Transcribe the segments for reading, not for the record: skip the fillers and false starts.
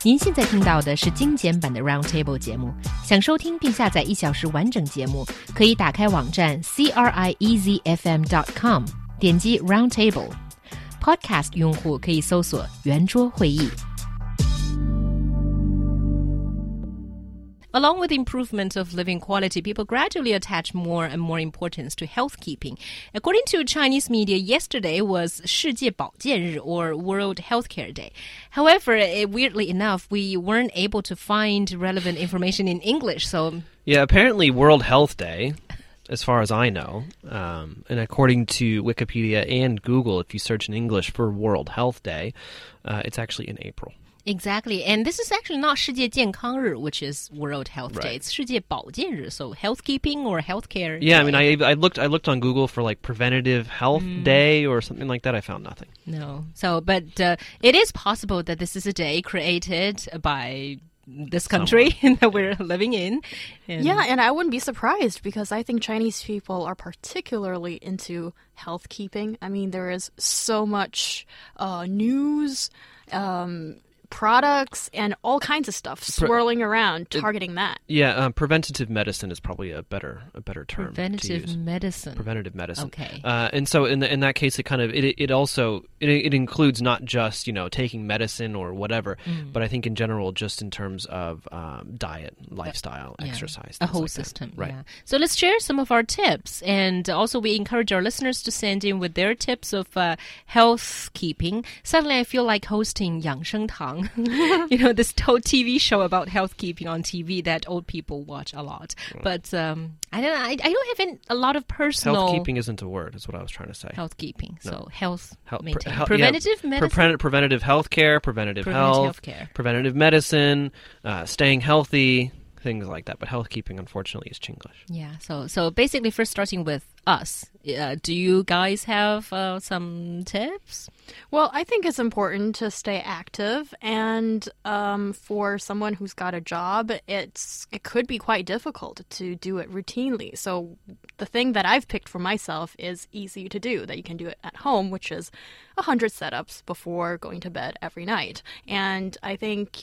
您现在听到的是精简版的 Roundtable 节目。想收听并下载1小时完整节目，可以打开网站 CRIEZFM.com， 点击 Roundtable。Podcast 用户可以搜索圆桌会议。Along with the improvement of living quality, people gradually attach more and more importance to healthkeeping. According to Chinese media, yesterday was 世界保健日 or World Healthcare Day. However, weirdly enough, we weren't able to find relevant information in English. So, yeah, apparently World Health Day, as far as I know, and according to Wikipedia and Google, if you search in English for World Health Day, it's actually in April.Exactly, and this is actually not 世界健康日, which is World Health Day. It's 世界保健日, so healthkeeping or healthcare. Yeah, day. I mean, I looked on Google for like preventative health day or something like that. I found nothing. No, but it is possible that this is a day created by this country that we're living in. Yeah, and I wouldn't be surprised because I think Chinese people are particularly into healthkeeping. I mean, there is so much news, products and all kinds of stuff swirling around targeting that. Yeah, preventative medicine is probably a better term. Preventative medicine. Preventative medicine. Okay. And so in that case, it also includes not just taking medicine or whatever, but I think in general, just in terms of diet, lifestyle, exercise, a whole like system. Right. Yeah. So let's share some of our tips, and also we encourage our listeners to send in with their tips of healthkeeping. Suddenly, I feel like hosting 养生堂. This whole TV show about healthkeeping on TV that old people watch a lot. But I don't have a lot of personal... Healthkeeping isn't a word, is what I was trying to say. Healthkeeping. No. So health maintain. Preventative medicine? Preventative healthcare, preventative health, healthcare. Preventative medicine, staying healthy, things like that. But healthkeeping, unfortunately, is Chinglish. Yeah, so basically first starting with us. Do you guys have some tips? Well, I think it's important to stay active, and for someone who's got a job, it could be quite difficult to do it routinely. So the thing that I've picked for myself is easy to do, that you can do it at home, which is 100 setups before going to bed every night. And I think,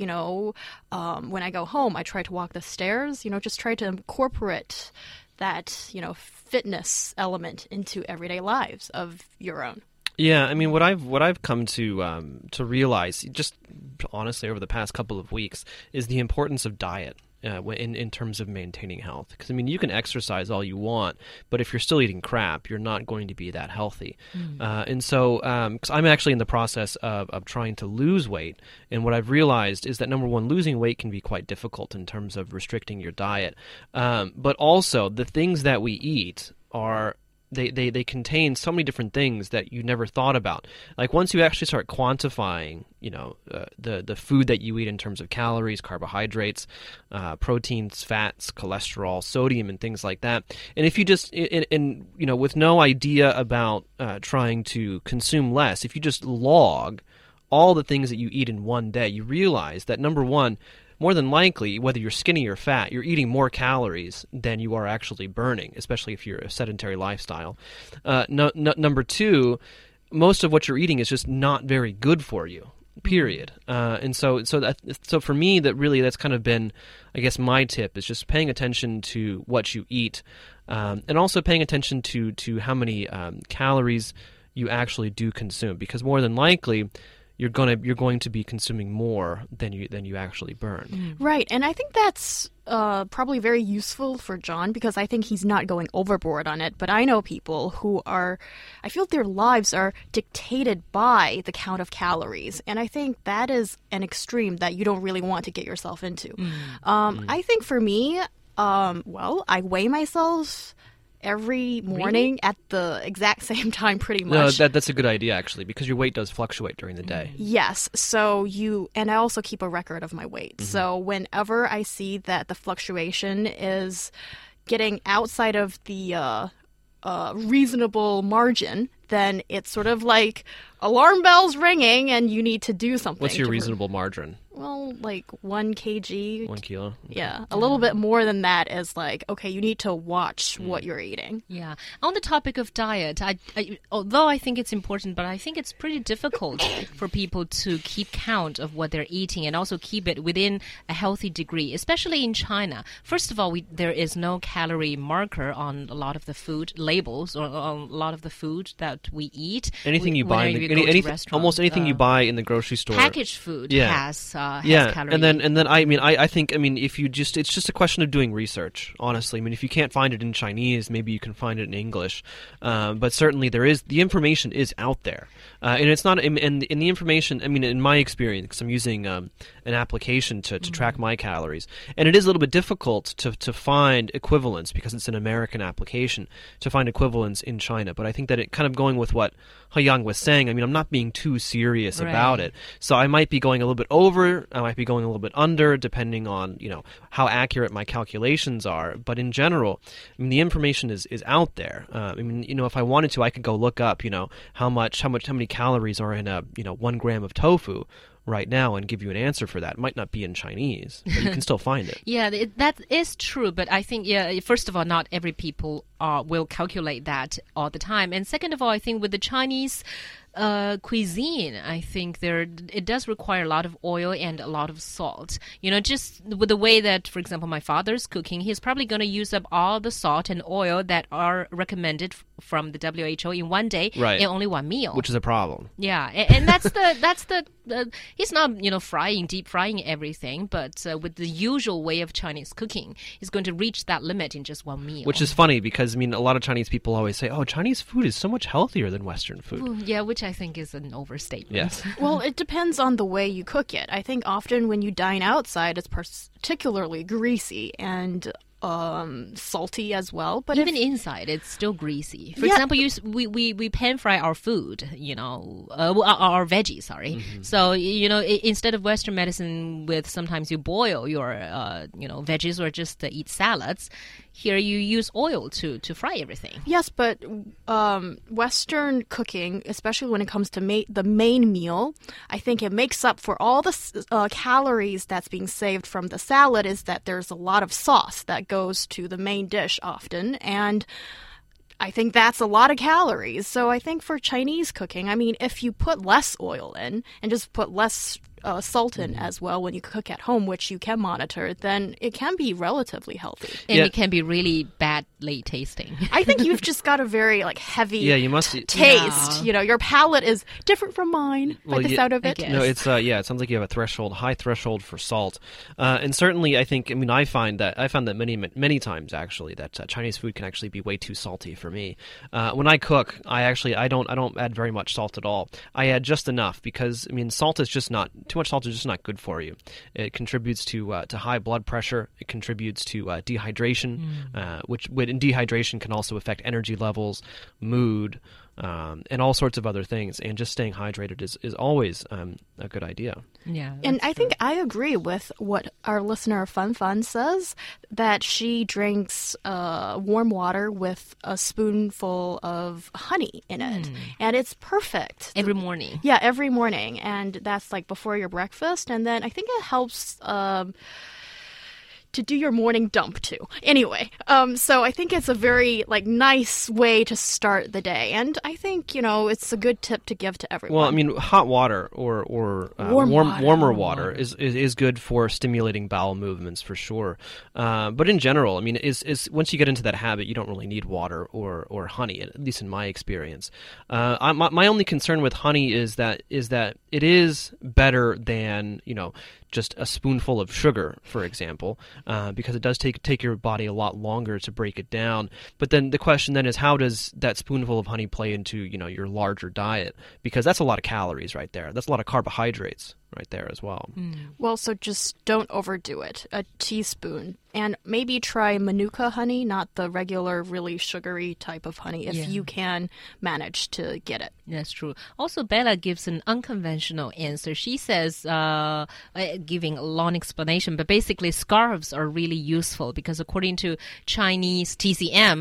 when I go home, I try to walk the stairs, just try to incorporate that, fitness element into everyday lives of your own. Yeah, I mean, what I've come to realize, just honestly over the past couple of weeks, is the importance of diet in terms of maintaining health. Because, I mean, you can exercise all you want, but if you're still eating crap, you're not going to be that healthy. And so, cause I'm actually in the process of trying to lose weight, and what I've realized is that, number one, losing weight can be quite difficult in terms of restricting your diet. But also, the things that we eat are... They contain so many different things that you never thought about. Like once you actually start quantifying, the food that you eat in terms of calories, carbohydrates, proteins, fats, cholesterol, sodium, and things like that. And if you just, with no idea about trying to consume less, if you just log all the things that you eat in one day, you realize that, number one, more than likely, whether you're skinny or fat, you're eating more calories than you are actually burning, especially if you're a sedentary lifestyle. Number two, most of what you're eating is just not very good for you, period. And so for me, that's kind of been, I guess, my tip is just paying attention to what you eat, and also paying attention to how many calories you actually do consume, because more than likely, you're going to be consuming more than you actually burn. Right, and I think that's probably very useful for John, because I think he's not going overboard on it. But I know people who I feel their lives are dictated by the count of calories, and I think that is an extreme that you don't really want to get yourself into. I think for me, I weigh myself every morning at the exact same time, pretty much. No, that's a good idea, actually, because your weight does fluctuate during the day. Yes. So and I also keep a record of my weight. So whenever I see that the fluctuation is getting outside of the reasonable margin, then it's sort of like alarm bells ringing and you need to do something. What's your reasonable margin? Well, like 1 kg. 1 kilo? Okay. Yeah, a little bit more than that is like, okay, you need to watch what you're eating. Yeah. On the topic of diet, although I think it's important, but I think it's pretty difficult for people to keep count of what they're eating and also keep it within a healthy degree, especially in China. First of all, there is no calorie marker on a lot of the food labels or on a lot of the food that we eat. Anything you buy, almost anything you buy in the grocery store, packaged food has calories. and then I think if you just, it's just a question of doing research. Honestly, I mean, if you can't find it in Chinese, maybe you can find it in English. But certainly the information is out there, and it's not. And the information, I mean, in my experience, because I'm using an application to track my calories, and it is a little bit difficult to find equivalents because it's an American application to find equivalents in China. But I think that it kind of going with what He-Yang was saying. I mean, I'm not being too serious about it, so I might be going a little bit over, I might be going a little bit under, depending on how accurate my calculations are. But in general, I mean, the information is out there. I mean, if I wanted to, I could go look up, how many calories are in a 1 gram of tofu right now and give you an answer for that. It might not be in Chinese, but you can still find it. Yeah, that is true. But I think, first of all, not every people will calculate that all the time. And second of all, I think with the Chinese cuisine, I think it does require a lot of oil and a lot of salt. Just with the way that, for example, my father's cooking, he's probably going to use up all the salt and oil that are recommended from the WHO in one day in only one meal, which is a problem. Yeah, and that's the he's not deep frying everything, but with the usual way of Chinese cooking, he's going to reach that limit in just one meal. Which is funny because I mean, a lot of Chinese people always say, "Oh, Chinese food is so much healthier than Western food." Ooh, yeah, which I think is an overstatement. Yes. Well, it depends on the way you cook it. I think often when you dine outside, it's particularly greasy and salty as well. But even inside, it's still greasy. For example, we pan fry our food, our veggies. Sorry. Mm-hmm. So instead of Western medicine, with sometimes you boil your veggies or just eat salads. Here you use oil to fry everything. Yes, but Western cooking, especially when it comes to the main meal, I think it makes up for all the calories that's being saved from the salad is that there's a lot of sauce that goes to the main dish often, and I think that's a lot of calories. So I think for Chinese cooking, I mean, if you put less oil in and just put less salt in as well when you cook at home, which you can monitor, then it can be relatively healthy. And it can be really badly tasting. I think you've just got a very heavy taste. Yeah. Your palate is different from mine by the sound of it. No, it's it sounds like you have a high threshold for salt. And certainly I found that many times actually that Chinese food can actually be way too salty for me. When I cook, I don't add very much salt at all. I add just enough because too much salt is just not good for you. It contributes to high blood pressure. It contributes to dehydration, which in dehydration can also affect energy levels, mood, and all sorts of other things. And just staying hydrated is always a good idea. Yeah, and I think I agree with what our listener Fun Fun says, that she drinks warm water with a spoonful of honey in it, and it's perfect every morning. Yeah, every morning, and that's before your breakfast, and then I think it helps to do your morning dump too. Anyway, so I think it's a very nice way to start the day, and I think it's a good tip to give to everyone. Well, I mean, hot water or warmer water is good for stimulating bowel movements for sure. But in general, I mean, is once you get into that habit, you don't really need water or honey, at least in my experience. My only concern with honey is that it is better than just a spoonful of sugar, for example, because it does take your body a lot longer to break it down. But then the question then is, how does that spoonful of honey play into your larger diet? Because that's a lot of calories right there. That's a lot of carbohydrates. right there as well. Well, so just don't overdo it. A teaspoon. And maybe try Manuka honey, not the regular, really sugary type of honey, if you can manage to get it. That's true. Also, Bella gives an unconventional answer. She says, giving a long explanation, but basically scarves are really useful because according to Chinese TCM,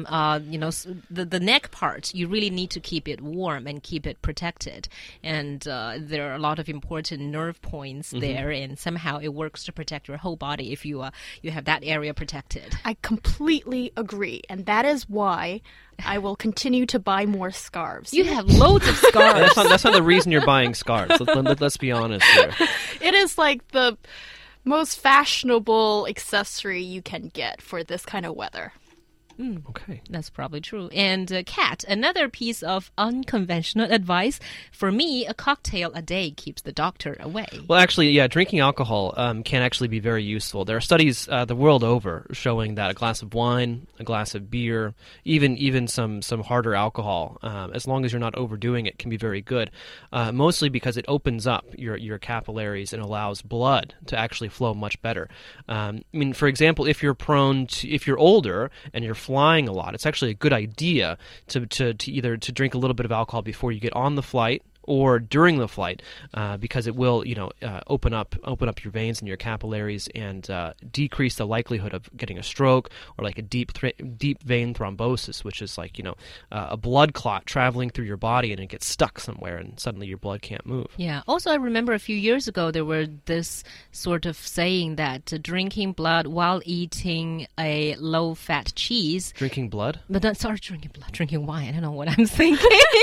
the neck part, you really need to keep it warm and keep it protected. And there are a lot of important nerve points there, and somehow it works to protect your whole body if you have that area protected. I completely agree, and that is why I will continue to buy more scarves. You have loads of scarves. That's not the reason you're buying scarves. Let's be honest here. It is like the most fashionable accessory you can get for this kind of weather. Okay. That's probably true. And Kat, another piece of unconventional advice. For me, a cocktail a day keeps the doctor away. Well, actually, yeah, drinking alcohol can actually be very useful. There are studies the world over showing that a glass of wine, a glass of beer, even some harder alcohol, as long as you're not overdoing it, can be very good. Mostly because it opens up your capillaries and allows blood to actually flow much better. I mean, for example, if you're older and you're flying a lot, it's actually a good idea to either to drink a little bit of alcohol before you get on the flight or during the flight, because it will, open up your veins and your capillaries and decrease the likelihood of getting a stroke or like a deep vein thrombosis, which is like a blood clot traveling through your body and it gets stuck somewhere and suddenly your blood can't move. Yeah. Also, I remember a few years ago there were this sort of saying that drinking blood while eating a low-fat cheese. Drinking blood? But not sorry, drinking blood, drinking wine. I don't know what I'm thinking.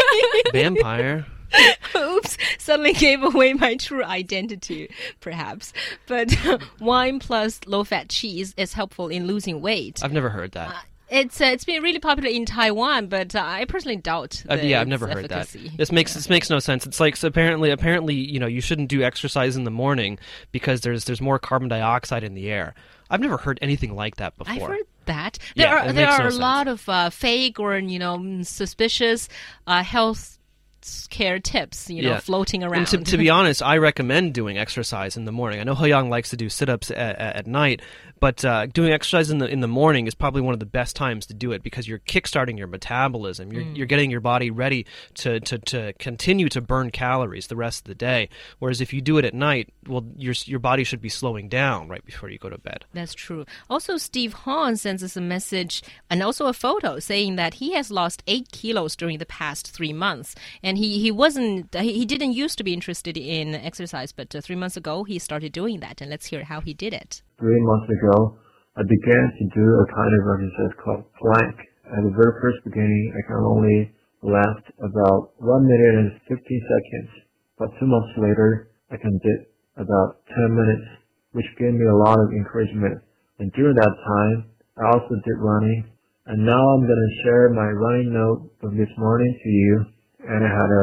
Vampire. Oops, suddenly gave away my true identity, perhaps. But wine plus low-fat cheese is helpful in losing weight. I've never heard that. It's been really popular in Taiwan, but I personally doubt I've never heard efficacy. That. This makes no sense. It's like, so apparently, you shouldn't do exercise in the morning because there's more carbon dioxide in the air. I've never heard anything like that before. I've heard that. There are a lot of fake or suspicious health care tips, floating around. And to be honest, I recommend doing exercise in the morning. I know He-Yang likes to do sit-ups at night, but doing exercise in the morning is probably one of the best times to do it because you're kickstarting your metabolism. You're getting your body ready to continue to burn calories the rest of the day. Whereas if you do it at night, well, your body should be slowing down right before you go to bed. That's true. Also, Steve Hahn sends us a message and also a photo saying that he has lost 8 kilos during the past 3 months. And he didn't used to be interested in exercise, but 3 months ago he started doing that. And let's hear how he did it. 3 months ago, I began to do a kind of exercise called plank. At the very first beginning, I can only last about 1 minute and 50 seconds. But 2 months later, I can do about 10 minutes, which gave me a lot of encouragement. And during that time, I also did running. And now I'm going to share my running note from this morning to you. And I had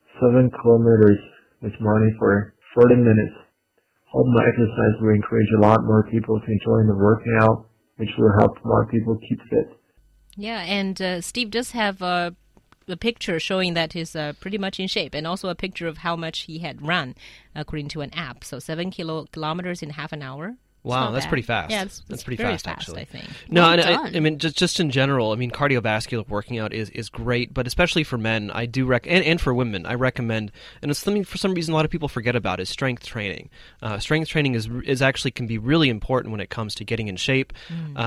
7 kilometers this morning for 40 minutes. Hope my exercise will encourage a lot more people to enjoy the workout, which will help more people keep fit. Yeah, and Steve does have a picture showing that he's pretty much in shape, and also a picture of how much he had run, according to an app. So 7 kilometers in half an hour. Wow, that's pretty fast. Yeah, that's pretty very fast, actually. I think. No, Well and done. I mean, just in general, I mean, cardiovascular working out is great, but especially for men, I do and for women, I recommend, and it's something for some reason a lot of people forget about, is strength training. Strength training is actually can be really important when it comes to getting in shape,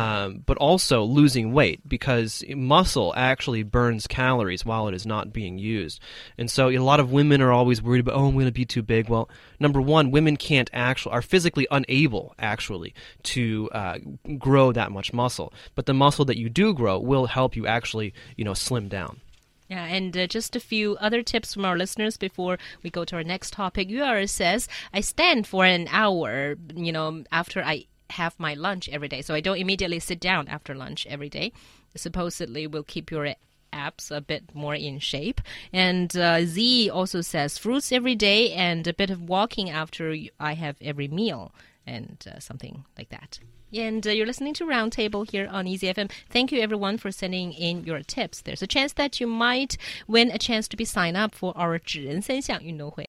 but also losing weight, because muscle actually burns calories while it is not being used. And so a lot of women are always worried about, I'm going to be too big. Well, number one, women are physically unable to grow that much muscle, but the muscle that you do grow will help you actually slim down. Yeah, and just a few other tips from our listeners before we go to our next topic. UR says, I stand for an hour, after I have my lunch every day. So I don't immediately sit down after lunch every day. Supposedly will keep your abs a bit more in shape. And Z also says, fruits every day and a bit of walking after I have every meal. And something like that. And you're listening to Roundtable here on Easy FM. Thank you, everyone, for sending in your tips. There's a chance that you might win a chance to be signed up for our 指人三项运动会